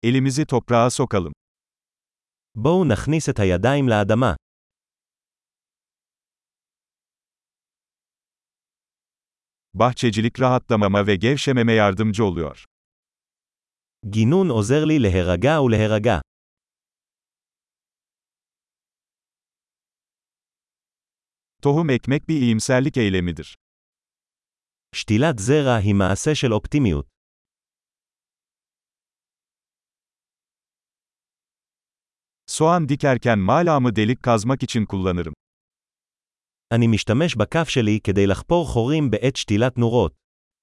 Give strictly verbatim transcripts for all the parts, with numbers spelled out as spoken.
Elimizi toprağa sokalım. בואו נכניס את הידיים לאדמה. Bahçecilik rahatlamama ve gevşememe yardımcı oluyor. גינון עוזר לי להירגע ולהירגע. Tohum ekmek bir iyimserlik eylemidir. שתילת זרע היא מעשה של אופטימיות. Soğan dikerken malamı delik kazmak için kullanırım. אני משתמש בכף שלי כדי לחפור חורים בעת שתילת נורות.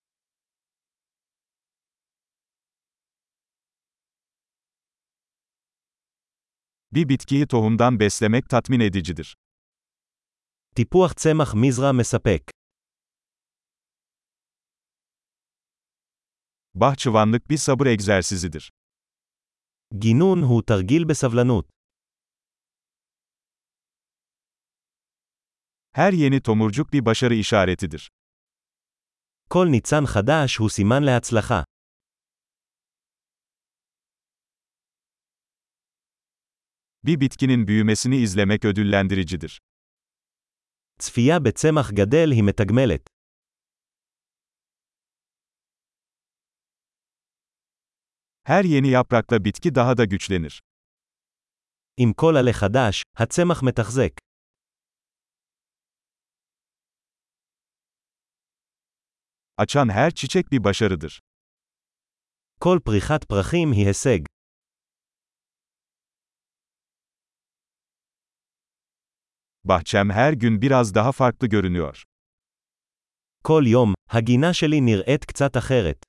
Bir bitkiyi tohumdan beslemek tatmin edicidir. טיפוח צמח מזרע מספק. Bahçıvanlık bir sabır egzersizidir. גינון הוא תרגיל בסבלנות. Her yeni tomurcuk bir başarı işaretidir. כל ניצן חדש הוא סימן להצלחה. Bir bitkinin büyümesini izlemek ödüllendiricidir. צפייה בצמח גדל היא מתגמלת. Her yeni yaprakla bitki daha da güçlenir. עם כל עלה חדש, הצמח מתחזק. Açan her çiçek bir başarıdır. כל פריחת פרחים היא הישג. Bahçem her gün biraz daha farklı görünüyor. כל יום, הגינה שלי נראית קצת אחרת.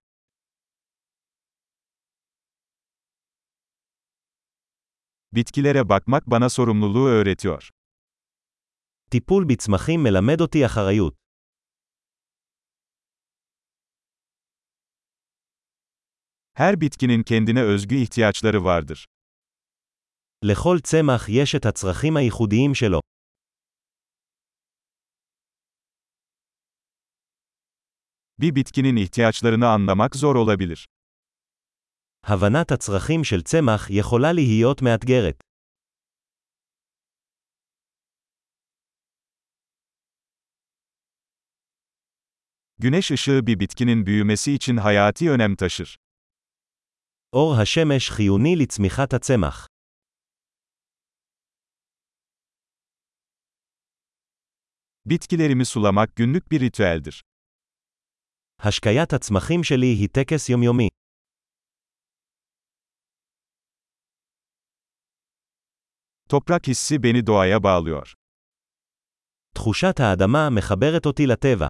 Bitkilere bakmak bana sorumluluğu öğretiyor. טיפול בצמחים מלמד אותי אחריות. Her bitkinin kendine özgü ihtiyaçları vardır. לכל צמח יש את הצרכים הייחודיים שלו. Bir bitkinin ihtiyaçlarını anlamak zor olabilir. הבנת הצרכים של צמח יכולה להיות מאתגרת. Güneş ışığı bir bitkinin büyümesi için hayati önem taşır. אור השמש חיוני לצמיחת הצמח. Bitkilerimi sulamak günlük bir ritüeldir. השקיית הצמחים שלי היא טקס יומיומי. Toprak hissi beni doğaya bağlıyor. תחושת האדמה מחברת אותי לטבע.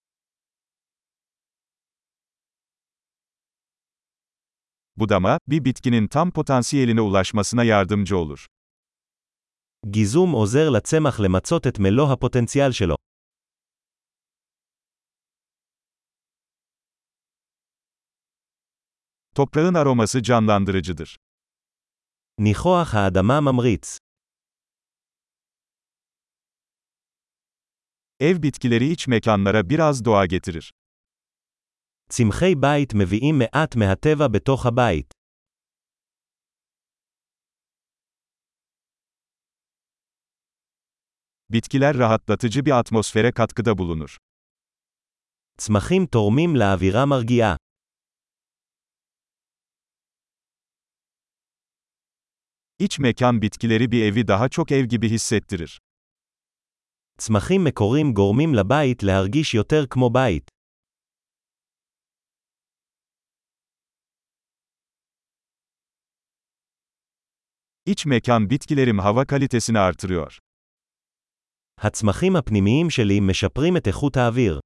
Budama, bir bitkinin tam potansiyeline ulaşmasına yardımcı olur. גיזום עוזר לצמח למצות את מלוא הפוטנציאל שלו. Toprağın aroması canlandırıcıdır. ניחוח האדמה ממריץ. Ev bitkileri iç mekanlara biraz doğa getirir. צמחי בית מביאים מעט מהטבע בתוך הבית. Bitkiler rahatlatıcı bir atmosfere katkıda bulunur. צמחים תורמים לאווירה מרגיעה. İç mekan bitkileri bir evi daha çok ev gibi hissettirir. צמחים מקורים גורמים לבית להרגיש יותר כמו בית. İç mekan bitkilerim hava kalitesini artırıyor. הצמחים הפנימיים שלי משפרים את איכות האוויר.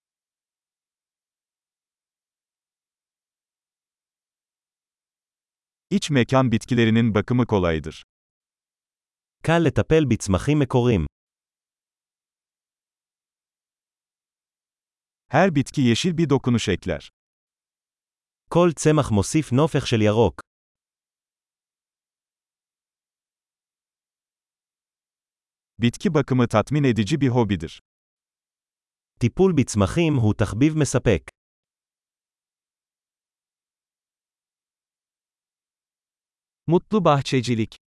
İç mekan bitkilerinin bakımı kolaydır. קל לטפל בצמחים מקורים. Her bitki yeşil bir dokunuş ekler. כל צמח מוסיף נופך של ירוק. Bitki bakımı tatmin edici bir hobidir. טיפול בצמחים הוא תחביב מספק. Mutlu bahçecilik.